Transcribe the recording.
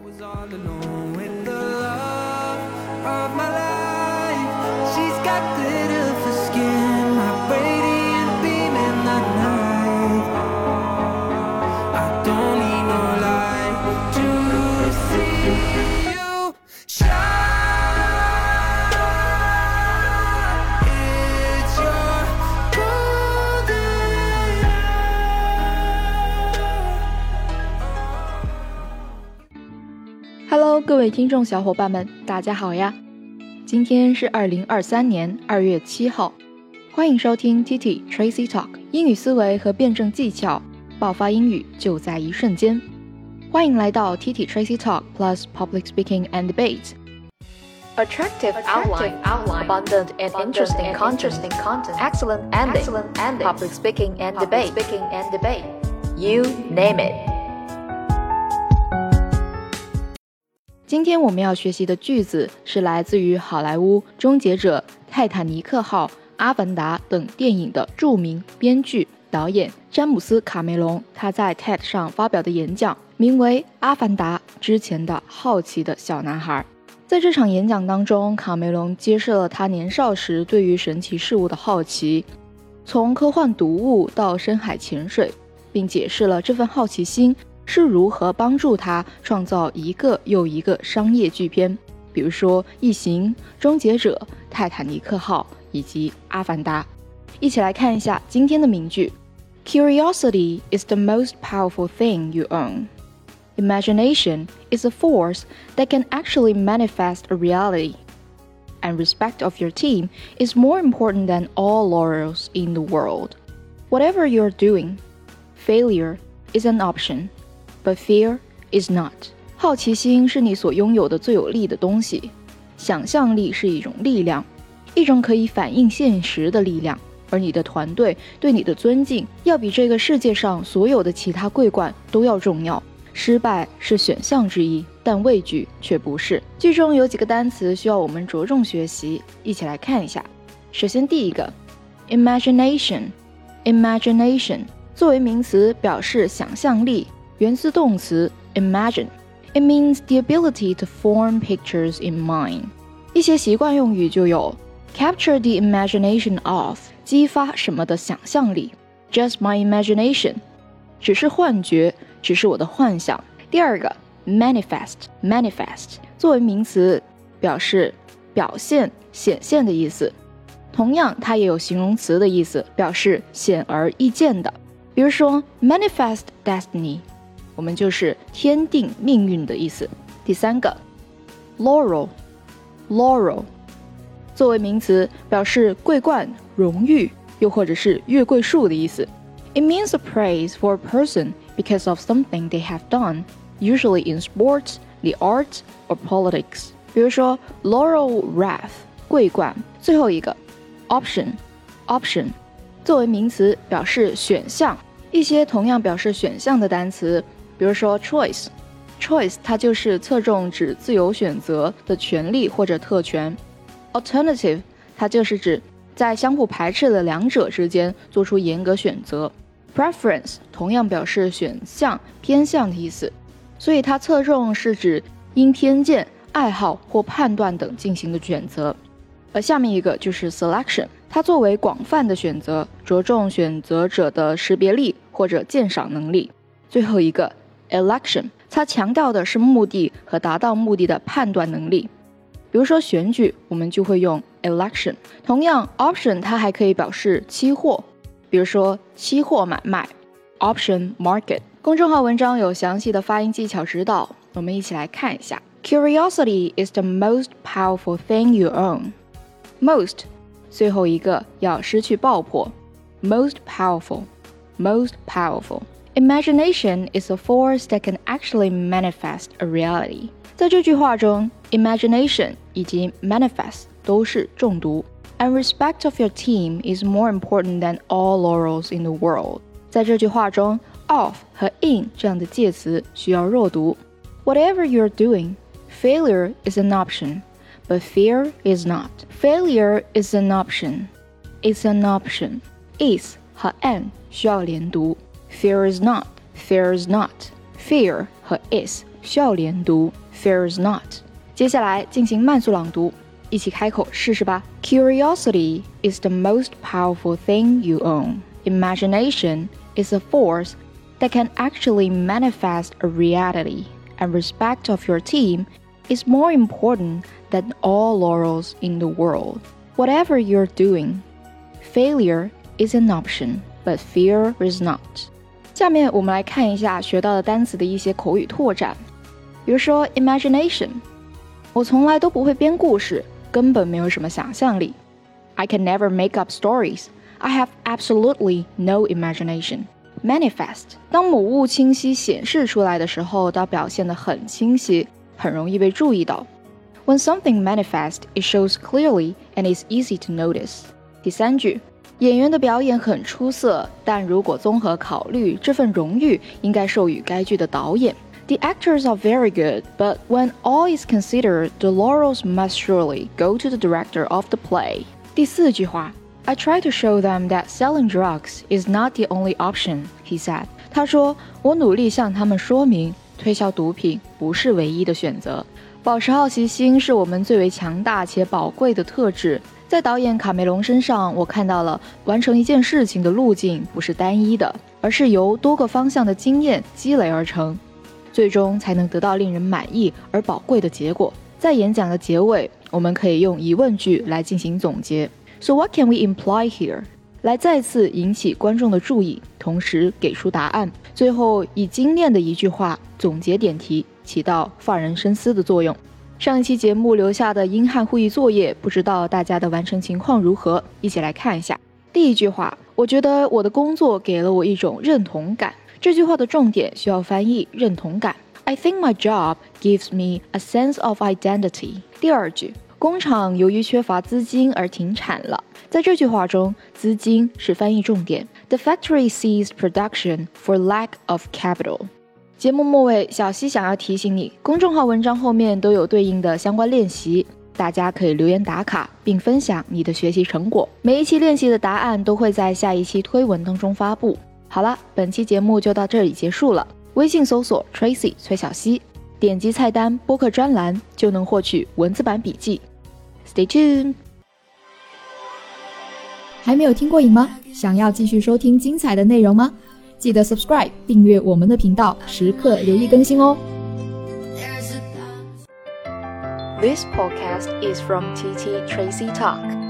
was all alone with the love of my life. She's got glitter for skin, my radiant beam in the night. I don't need no light to see you shine. It's your golden Hello， 各位听众小伙伴们，大家好呀！今天是2023年2月7号，欢迎收听 TT Tracy Talk 英语思维和辩证技巧，爆发英语就在一瞬间。欢迎来到 TT Tracy Talk Plus Public Speaking and Debate。Attractive outline, abundant and interesting content, excellent ending, public speaking and debate. You name it. 今天我们要学习的句子是来自于好莱坞《终结者》《泰坦尼克号》《阿凡达》等电影的著名编剧、导演詹姆斯·卡梅隆他在 TED 上发表的演讲，名为《阿凡达之前的好奇的小男孩》。在这场演讲当中，卡梅隆揭示了他年少时对于神奇事物的好奇，从科幻读物到深海潜水，并解释了这份好奇心是如何帮助他创造一个又一个商业巨片，比如说《异形》、《终结者》、《泰坦尼克号》以及《阿凡达》。一起来看一下今天的名句。 Curiosity is the most powerful thing you own. Imagination is a force that can actually manifest a reality. And respect of your team is more important than all laurels in the world. Whatever you're doing, failure is an option.But fear is not. 好奇心是你所拥有的最有力的东西，想象力是一种力量，一种可以反映现实的力量，而你的团队对你的尊敬要比这个世界上所有的其他桂冠都要重要。失败是选项之一，但畏惧却不是。句中有几个单词需要我们着重学习，一起来看一下。首先第一个 Imagination 作为名词表示想象力，源自动词 imagine. It means the ability to form pictures in mind. 一些习惯用语就有 capture the imagination of 激发什么的想象力， just my imagination 只是幻觉，只是我的幻想。第二个 manifest 作为名词表示表现、显现的意思，同样它也有形容词的意思，表示显而易见的。比如说 manifest destiny，我们就是天定命运的意思。第三个 laurel 作为名词表示桂冠、荣誉，又或者是月桂树的意思。It means a praise for a person because of something they have done, usually in sports, the arts, or politics. 比如说 laurel wreath 桂冠。最后一个 option 作为名词表示选项，一些同样表示选项的单词，比如说 choice 它就是侧重指自由选择的权利或者特权。 alternative 它就是指在相互排斥的两者之间做出严格选择。 preference 同样表示选项、偏向的意思，所以它侧重是指因偏见、爱好或判断等进行的选择。而下面一个就是 selection， 它作为广泛的选择，着重选择者的识别力或者鉴赏能力。最后一个 election， 它强调的是目的和达到目的的判断能力。比如说选举，我们就会用 election。 同样 option 它还可以表示期货，比如说期货买卖 option market。 公众号文章有详细的发音技巧指导，我们一起来看一下。 Curiosity is the most powerful thing you own. Most 最后一个要失去爆破， most powerful. Imagination is a force that can actually manifest a reality. 在这句话中 imagination 以及 manifest 都是重读。 And respect of your team is more important than all laurels in the world. 在这句话中 of 和 in 这样的介词需要弱读。 Whatever you're doing, failure is an option, but fear is not. Failure is an option. It's an option. Is 和 an 需要连读。 Fear is not. Fear 和 is 笑脸读 fears not。接下来进行慢速朗读，一起开口试试吧。Curiosity is the most powerful thing you own. Imagination is a force that can actually manifest a reality, and respect of your team is more important than all laurels in the world. Whatever you're doing, failure is an option, but fear is not. 下面我们来看一下学到的单词的一些口语拓展。比如说 imagination， 我从来都不会编故事，根本没有什么想象力。I can never make up stories. I have absolutely no imagination. Manifest， 当某物清晰显示出来的时候，它表现得很清晰，很容易被注意到。When something manifests, it shows clearly and is easy to notice. 第三句，演员的表演很出色，但如果综合考虑，这份荣誉应该授予该剧的导演。The actors are very good, but when all is considered, the laurels must surely go to the director of the play. 第四句话，I try to show them that selling drugs is not the only option, he said. 他说，我努力向他们说明，推销毒品不是唯一的选择。保持好奇心是我们最为强大且宝贵的特质。在导演卡梅隆身上，我看到了完成一件事情的路径不是单一的，而是由多个方向的经验积累而成，最终才能得到令人满意而宝贵的结果。在演讲的结尾，我们可以用疑问句来进行总结。So what can we imply here? 来再次引起观众的注意，同时给出答案。最后以精炼的一句话总结点题，起到发人深思的作用。上一期节目留下的英汉互译作业，不知道大家的完成情况如何？一起来看一下。第一句话，我觉得我的工作给了我一种认同感。这句话的重点需要翻译认同感。I think my job gives me a sense of identity. 第二句，工厂由于缺乏资金而停产了。在这句话中，资金是翻译重点。The factory ceased production for lack of capital. 节目末尾，小溪想要提醒你，公众号文章后面都有对应的相关练习，大家可以留言打卡并分享你的学习成果。每一期练习的答案都会在下一期推文当中发布。好了，本期节目就到这里结束了。微信搜索 Tracy 崔小溪，点击菜单播客专栏就能获取文字版笔记。Stay tuned。 还没有听过瘾吗？想要继续收听精彩的内容吗？记得 subscribe 订阅我们的频道，时刻留意更新哦。 This podcast is from TT Tracy Talk.